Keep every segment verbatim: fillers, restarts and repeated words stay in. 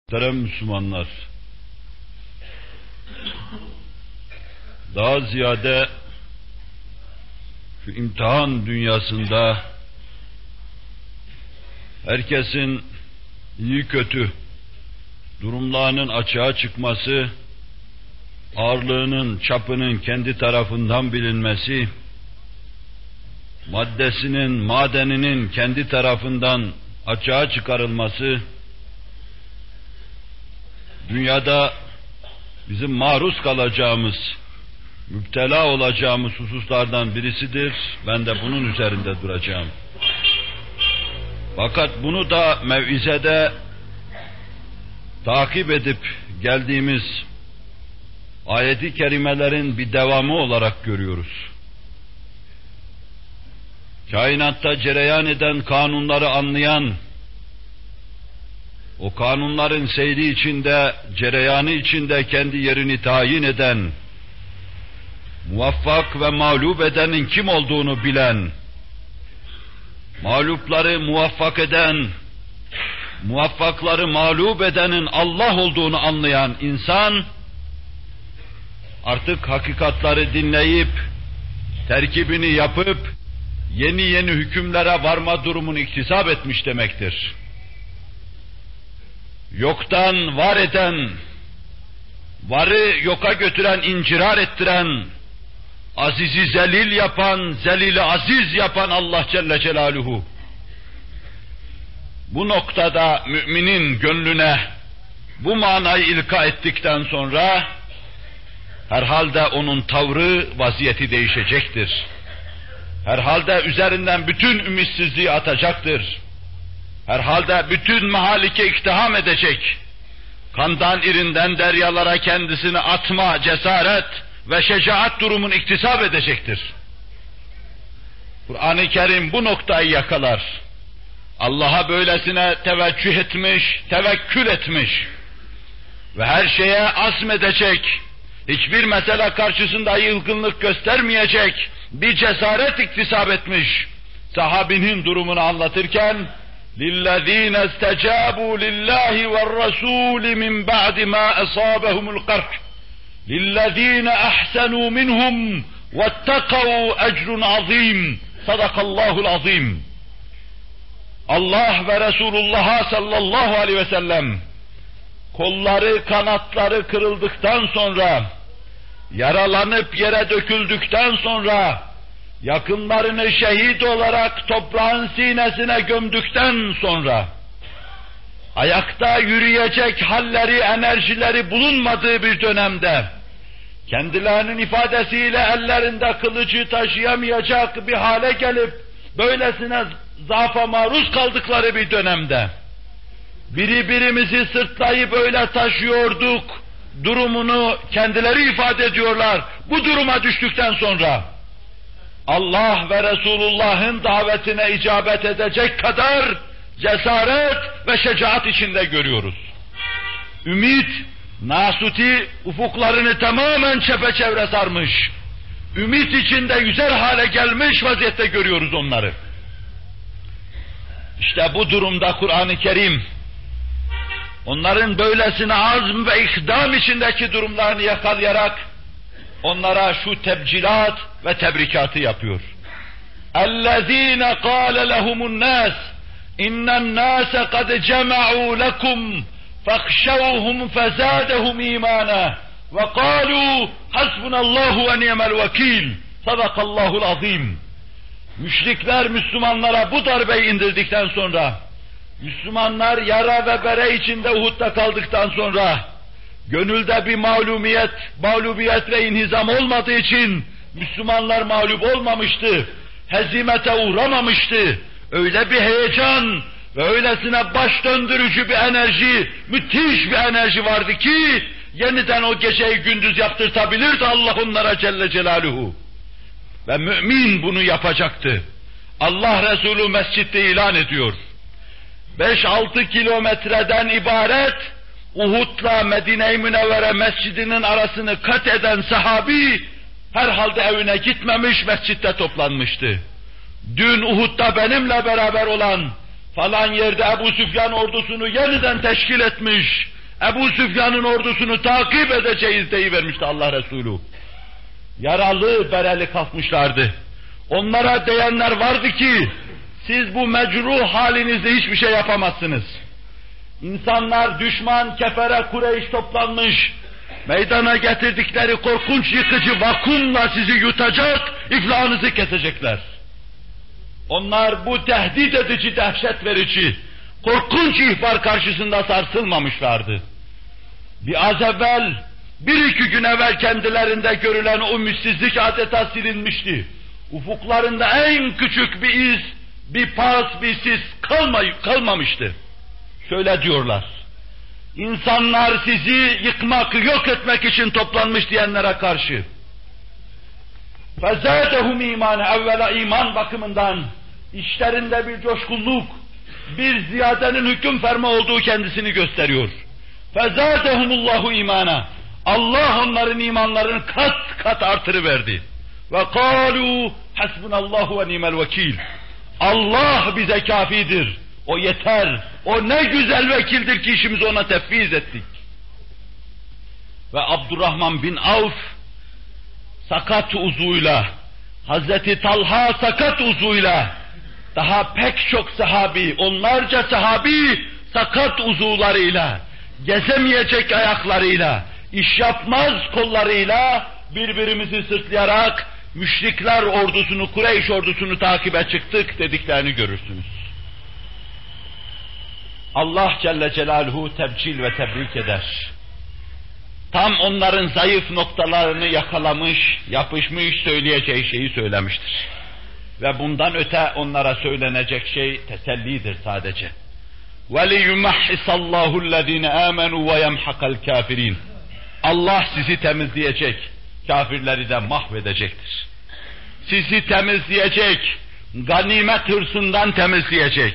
Muhterem Müslümanlar, daha ziyade şu imtihan dünyasında herkesin iyi kötü durumlarının açığa çıkması, ağırlığının, çapının kendi tarafından bilinmesi, maddesinin, madeninin kendi tarafından açığa çıkarılması, dünyada bizim maruz kalacağımız, müptela olacağımız hususlardan birisidir. Ben de bunun üzerinde duracağım. Fakat bunu da mev'izede takip edip geldiğimiz ayet-i kerimelerin bir devamı olarak görüyoruz. Kainatta cereyan eden kanunları anlayan, o kanunların seyri içinde, cereyanı içinde kendi yerini tayin eden, muvaffak ve mağlup edenin kim olduğunu bilen, mağlupları muvaffak eden, muvaffakları mağlup edenin Allah olduğunu anlayan insan, artık hakikatları dinleyip, terkibini yapıp, yeni yeni hükümlere varma durumunu iktisap etmiş demektir. Yoktan var eden, varı yoka götüren, incirar ettiren, azizi zelil yapan, zelili aziz yapan Allah Celle Celaluhu, bu noktada müminin gönlüne bu manayı ilka ettikten sonra, herhalde onun tavrı, vaziyeti değişecektir. Herhalde üzerinden bütün ümitsizliği atacaktır. Herhalde bütün mahalike iktiham edecek. Kandan irinden deryalara kendisini atma, cesaret ve şecaat durumunu iktisap edecektir. Kur'an-ı Kerim bu noktayı yakalar. Allah'a böylesine teveccüh etmiş, tevekkül etmiş ve her şeye azmedecek, hiçbir mesele karşısında yılgınlık göstermeyecek bir cesaret iktisap etmiş. Sahabinin durumunu anlatırken, لِلَّذ۪ينَ اسْتَجَابُوا لِلّٰهِ وَالرَّسُولِ مِنْ بَعْدِ مَا أَصَابَهُمُ الْقَرْحِ لِلَّذ۪ينَ أَحْسَنُوا مِنْهُمْ وَاتَّقَوْا اَجْرٌ عَظ۪يمٌ Sadakallahul azim. Allah ve Resulullah'a sallallahu aleyhi ve sellem kolları, kanatları kırıldıktan sonra, yaralanıp yere döküldükten sonra, yakınlarını şehit olarak toprağın sinesine gömdükten sonra, ayakta yürüyecek halleri, enerjileri bulunmadığı bir dönemde, kendilerinin ifadesiyle ellerinde kılıcı taşıyamayacak bir hale gelip, böylesine zaafa maruz kaldıkları bir dönemde, biri birimizi sırtlayıp öyle taşıyorduk durumunu kendileri ifade ediyorlar. Bu duruma düştükten sonra, Allah ve Resulullah'ın davetine icabet edecek kadar cesaret ve şecaat içinde görüyoruz. Ümit, nasuti ufuklarını tamamen çepeçevre sarmış. Ümit içinde yüzer hale gelmiş vaziyette görüyoruz onları. İşte bu durumda Kur'an-ı Kerim, onların böylesine azm ve ikdam içindeki durumlarını yakalayarak, onlara şu tebcilat ve tebrikatı yapıyor. اَلَّذ۪ينَ قَالَ لَهُمُ النَّاسِ اِنَّ النَّاسَ قَدْ جَمَعُوا لَكُمْ فَاخْشَوْهُمْ فَزَادَهُمْ اِيمَانًا وَقَالُوا حَسْبُنَ اللّٰهُ وَنِعْمَ الْوَكِيلِ Sadakallahul azim. Müşrikler Müslümanlara bu darbeyi indirdikten sonra, Müslümanlar yara ve bere içinde Uhud'da kaldıktan sonra, gönülde bir mağlubiyet, mağlubiyet ve inhizam olmadığı için Müslümanlar mağlup olmamıştı, hezimete uğramamıştı. Öyle bir heyecan ve öylesine baş döndürücü bir enerji, müthiş bir enerji vardı ki, yeniden o geceyi gündüz yaptırtabilirdi Allah onlara Celle Celaluhu. Ve mümin bunu yapacaktı. Allah Resulü mescitte ilan ediyor. beş altı kilometreden ibaret, Uhud'la Medine-i Münevvere mescidinin arasını kat eden sahabi, herhalde evine gitmemiş, mescitte toplanmıştı. Dün Uhud'da benimle beraber olan, falan yerde Ebu Süfyan ordusunu yeniden teşkil etmiş, Ebu Süfyan'ın ordusunu takip edeceğiz deyivermişti Allah Resulü. Yaralı, bereli kalkmışlardı. Onlara diyenler vardı ki, siz bu mecruh halinizde hiçbir şey yapamazsınız. İnsanlar, düşman, kefere, Kureyş toplanmış, meydana getirdikleri korkunç yıkıcı vakumla sizi yutacak, iflahınızı kesecekler. Onlar bu tehdit edici, dehşet verici, korkunç ihbar karşısında sarsılmamışlardı. Bir az evvel, bir iki gün evvel kendilerinde görülen o ümidsizlik adeta silinmişti. Ufuklarında en küçük bir iz, bir pas, bir sis kalmay kalmamıştı. Şöyle diyorlar, İnsanlar sizi yıkmak, yok etmek için toplanmış diyenlere karşı. فَزَادَهُمْ اِيمَانَ Evvela iman bakımından işlerinde bir coşkunluk, bir ziyadenin hüküm ferma olduğu kendisini gösteriyor. فَزَادَهُمُ اللّٰهُ اِيمَانَ Allah onların imanlarını kat kat artırıverdi. وَقَالُوا حَسْبُنَ اللّٰهُ وَنِيمَ الْوَكِيلِ Allah bize kafidir. O yeter. O ne güzel vekildir ki işimizi ona tefviz ettik. Ve Abdurrahman bin Avf sakat uzuyla, Hazreti Talha sakat uzuyla, daha pek çok sahabi, onlarca sahabi sakat uzuvlarıyla, gezemeyecek ayaklarıyla, iş yapmaz kollarıyla birbirimizi sırtlayarak müşrikler ordusunu, Kureyş ordusunu takibe çıktık dediklerini görürsünüz. Allah Celle Celaluhu tebcil ve tebrik eder. Tam onların zayıf noktalarını yakalamış, yapışmış, söyleyeceği şeyi söylemiştir. Ve bundan öte onlara söylenecek şey tesellidir sadece. وَلِيُمَحِّسَ اللّٰهُ الَّذ۪ينَ آمَنُوا وَيَمْحَقَ الْكَافِر۪ينَ Allah sizi temizleyecek, kafirleri de mahvedecektir. Sizi temizleyecek, ganimet hırsından temizleyecek,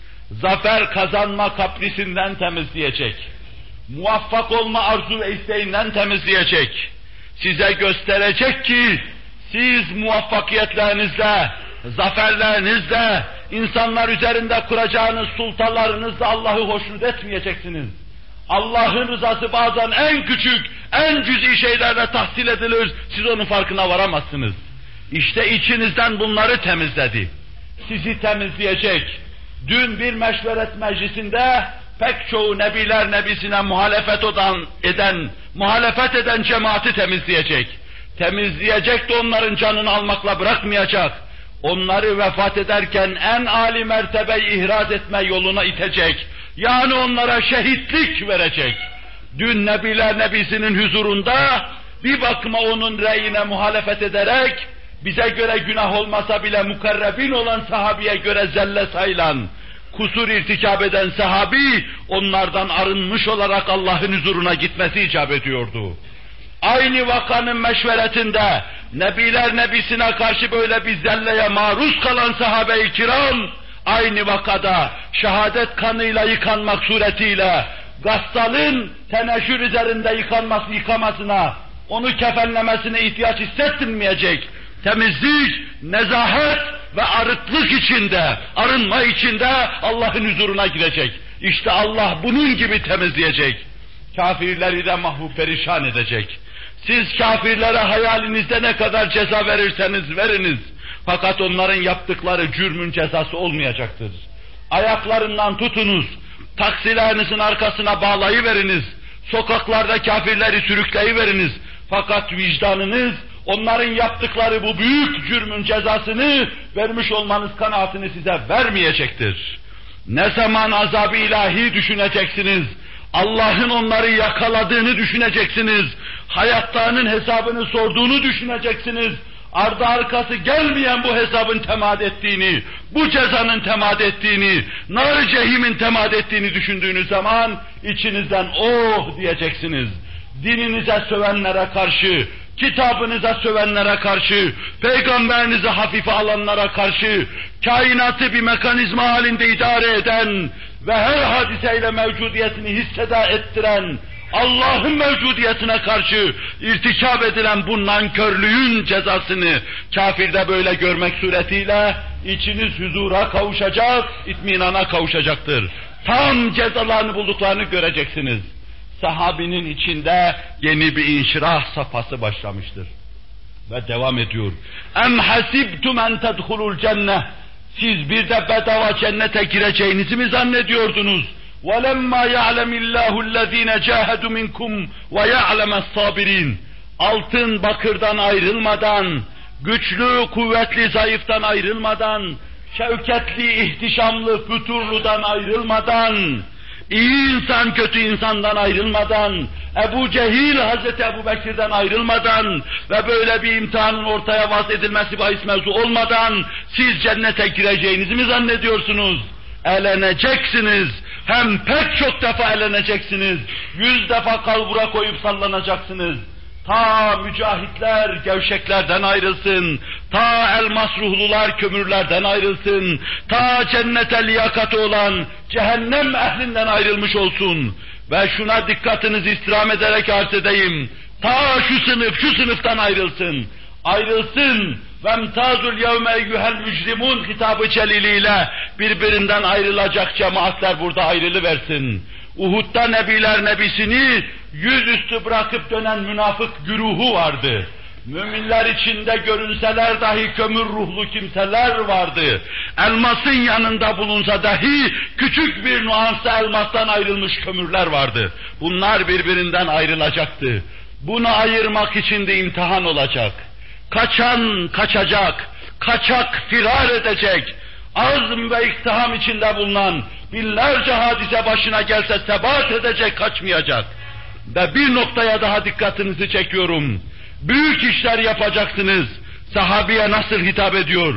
zafer kazanma kaprisinden temizleyecek, muvaffak olma arzu ve isteğinden temizleyecek, size gösterecek ki siz muvaffakiyetlerinizle, zaferlerinizle, insanlar üzerinde kuracağınız sultalarınızla Allah'ı hoşnut etmeyeceksiniz. Allah'ın rızası bazen en küçük, en cüz'i şeylerle tahsil edilir, siz onun farkına varamazsınız. İşte içinizden bunları temizledi. Sizi temizleyecek. Dün bir meşveret meclisinde pek çoğu nebiler nebisine muhalefet eden, eden, muhalefet eden cemaati temizleyecek. Temizleyecek de onların canını almakla bırakmayacak. Onları vefat ederken en âli mertebeyi ihraz etme yoluna itecek. Yani onlara şehitlik verecek. Dün nebiler nebisinin huzurunda bir bakıma onun reyine muhalefet ederek, bize göre günah olmasa bile mukarrebin olan sahabiye göre zelle sayılan, kusur irtikab eden sahabi, onlardan arınmış olarak Allah'ın huzuruna gitmesi icap ediyordu. Aynı vakanın meşveretinde, nebiler nebisine karşı böyle bir zelleye maruz kalan sahabe-i kiram, aynı vakada şehadet kanıyla yıkanmak suretiyle, gassalın teneşür üzerinde yıkanması, yıkamasına, onu kefenlemesine ihtiyaç hissettirmeyecek, temizlik, nezahet ve arıklık içinde, arınma içinde Allah'ın huzuruna girecek. İşte Allah bunun gibi temizleyecek. Kafirleri de mahvu perişan edecek. Siz kafirlere hayalinizde ne kadar ceza verirseniz veriniz. Fakat onların yaptıkları cürmün cezası olmayacaktır. Ayaklarından tutunuz, taksilerinizin arkasına bağlayıveriniz, sokaklarda kafirleri sürükleyiveriniz. Fakat vicdanınız, onların yaptıkları bu büyük cürmün cezasını vermiş olmanız kanaatini size vermeyecektir. Ne zaman azab-ı ilahi düşüneceksiniz, Allah'ın onları yakaladığını düşüneceksiniz, hayatlarının hesabını sorduğunu düşüneceksiniz, ardı arkası gelmeyen bu hesabın temad ettiğini, bu cezanın temad ettiğini, nar-ı cehimin temad ettiğini düşündüğünüz zaman içinizden oh diyeceksiniz. Dininize sövenlere karşı, kitabınıza sövenlere karşı, peygamberinizi hafife alanlara karşı, kainatı bir mekanizma halinde idare eden ve her hadiseyle mevcudiyetini hisseda ettiren, Allah'ın mevcudiyetine karşı irtikab edilen bu nankörlüğün cezasını kafirde böyle görmek suretiyle içiniz huzura kavuşacak, itminana kavuşacaktır. Tam cezalarını bulduklarını göreceksiniz. sahabinin içinde yeni bir inşirah safhası başlamıştır. Ve devam ediyor. Em hasibtum en tedhulul cenneh. Siz bir de bedava cennete gireceğinizi mi zannediyordunuz? وَلَمَّا يَعْلَمِ اللّٰهُ الَّذ۪ينَ جَاهَدُوا مِنْكُمْ وَيَعْلَمَ الصَّابِر۪ينَ. Altın bakırdan ayrılmadan, güçlü kuvvetli zayıftan ayrılmadan, şevketli ihtişamlı füturludan ayrılmadan, iyi insan kötü insandan ayrılmadan, Ebu Cehil Hazreti Ebu Bekir'den ayrılmadan ve böyle bir imtihanın ortaya vaz edilmesi bahis mevzu olmadan siz cennete gireceğinizi mi zannediyorsunuz? Eleneceksiniz. Hem pek çok defa eleneceksiniz. Yüz defa kalbura koyup sallanacaksınız. Ta mücahitler gevşeklerden ayrılsın, ta elmas ruhlular kömürlerden ayrılsın, ta cennete liyakatı olan cehennem ehlinden ayrılmış olsun. Ve şuna dikkatinizi istirham ederek arz edeyim, ta şu sınıf, şu sınıftan ayrılsın, ayrılsın. وَمْتَازُ الْيَوْمَ اَيُّهَا الْمُجْرِمُونَ kitabı celiliyle birbirinden ayrılacak cemaatler burada ayrılıversin. Uhud'da Nebiler Nebisini yüzüstü bırakıp dönen münafık güruhu vardı. Müminler içinde görünseler dahi kömür ruhlu kimseler vardı. Elmasın yanında bulunsa dahi küçük bir nuansa elmastan ayrılmış kömürler vardı. Bunlar birbirinden ayrılacaktı. Bunu ayırmak için de imtihan olacak. Kaçan kaçacak, kaçak firar edecek, azm ve iktiham içinde bulunan binlerce hadise başına gelse sebat edecek, kaçmayacak. Ve bir noktaya daha dikkatinizi çekiyorum. Büyük işler yapacaksınız. Sahabiye nasıl hitap ediyor?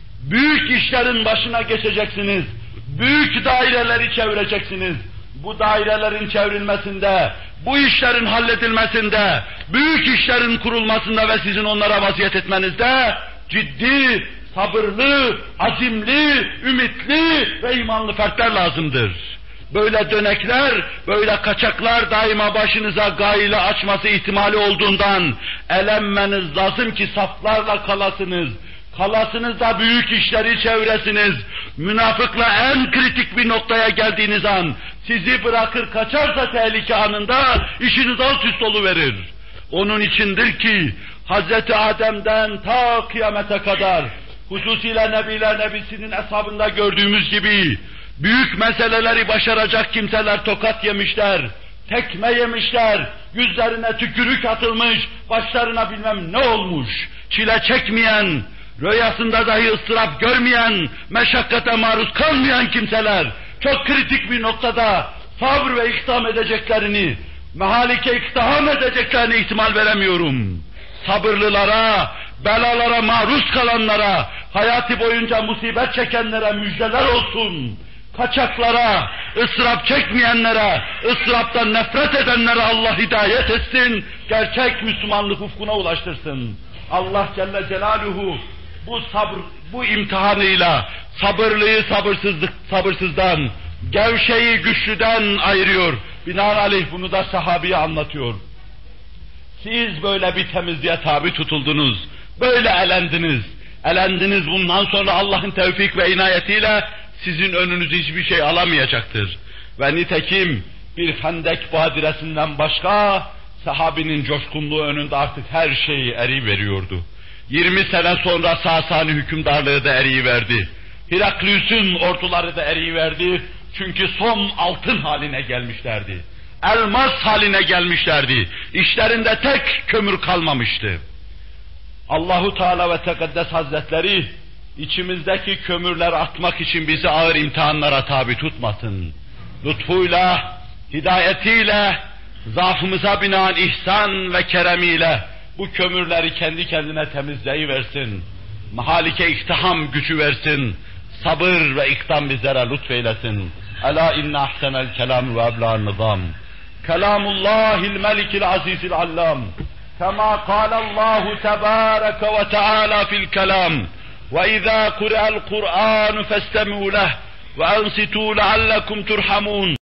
Büyük işlerin başına geçeceksiniz. Büyük daireleri çevireceksiniz. Bu dairelerin çevrilmesinde, bu işlerin halledilmesinde, büyük işlerin kurulmasında ve sizin onlara vaziyet etmenizde ciddi, sabırlı, azimli, ümitli ve imanlı fertler lazımdır. Böyle dönekler, böyle kaçaklar daima başınıza gaile açması ihtimali olduğundan elenmeniz lazım ki saflarla kalasınız. Kalasınız da büyük işleri çevresiniz. Münafıkla en kritik bir noktaya geldiğiniz an sizi bırakır kaçarsa tehlike anında işiniz alt üst oluverir. Onun içindir ki Hazreti Adem'den ta kıyamete kadar hususiyle Nebiler Nebisi'nin eshabında gördüğümüz gibi büyük meseleleri başaracak kimseler tokat yemişler, tekme yemişler, yüzlerine tükürük atılmış, başlarına bilmem ne olmuş, çile çekmeyen, rüyasında dahi ıstırap görmeyen, meşakkate maruz kalmayan kimseler, çok kritik bir noktada sabır ve iktidam edeceklerini, mehalike iktidam edeceklerini ihtimal veremiyorum. Sabırlılara, belalara maruz kalanlara, hayatı boyunca musibet çekenlere müjdeler olsun. Kaçaklara, ıstırap çekmeyenlere, ıstıraptan nefret edenlere Allah hidayet etsin, gerçek Müslümanlık ufkuna ulaştırsın. Allah Celle Celaluhu bu sabır, bu imtihanıyla sabırlıyı sabırsızlık, sabırsızdan, gevşeyi güçlüden ayırıyor. Binaenaleyh bunu da sahabiye anlatıyor. Siz böyle bir temizliğe tabi tutuldunuz, böyle elendiniz. Elendiniz, bundan sonra Allah'ın tevfik ve inayetiyle sizin önünüzü hiçbir şey alamayacaktır. Ve nitekim bir Hendek badiresinden başka sahabinin coşkunluğu önünde artık her şey eriveriyordu. yirmi sene sonra Sasani hükümdarlığı da eriyiverdi. Heraklius'un orduları da eriyiverdi. Çünkü son altın haline gelmişlerdi. Elmas haline gelmişlerdi. İşlerinde tek kömür kalmamıştı. Allahu Teala ve Tekaddes Hazretleri içimizdeki kömürler atmak için bizi ağır imtihanlara tabi tutmasın. Lütfuyla, hidayetiyle, zaafımıza binaen ihsan ve keremiyle bu kömürleri kendi kendine temizleyiversin. Mahalike iktiham gücü versin. Sabır ve ikdam bizlere lütfeylesin. Ela inne ahsenel kelam ve ebla'n nizam. Kelamullahil melikil azizil allam. Kema kâlallahu tebâreke ve teâlâ fil kelam. وَإِذَا قُرِئَ الْقُرْآنُ فَاسْتَمِعُوا لَهُ وَأَنصِتُوا لَعَلَّكُمْ تُرْحَمُونَ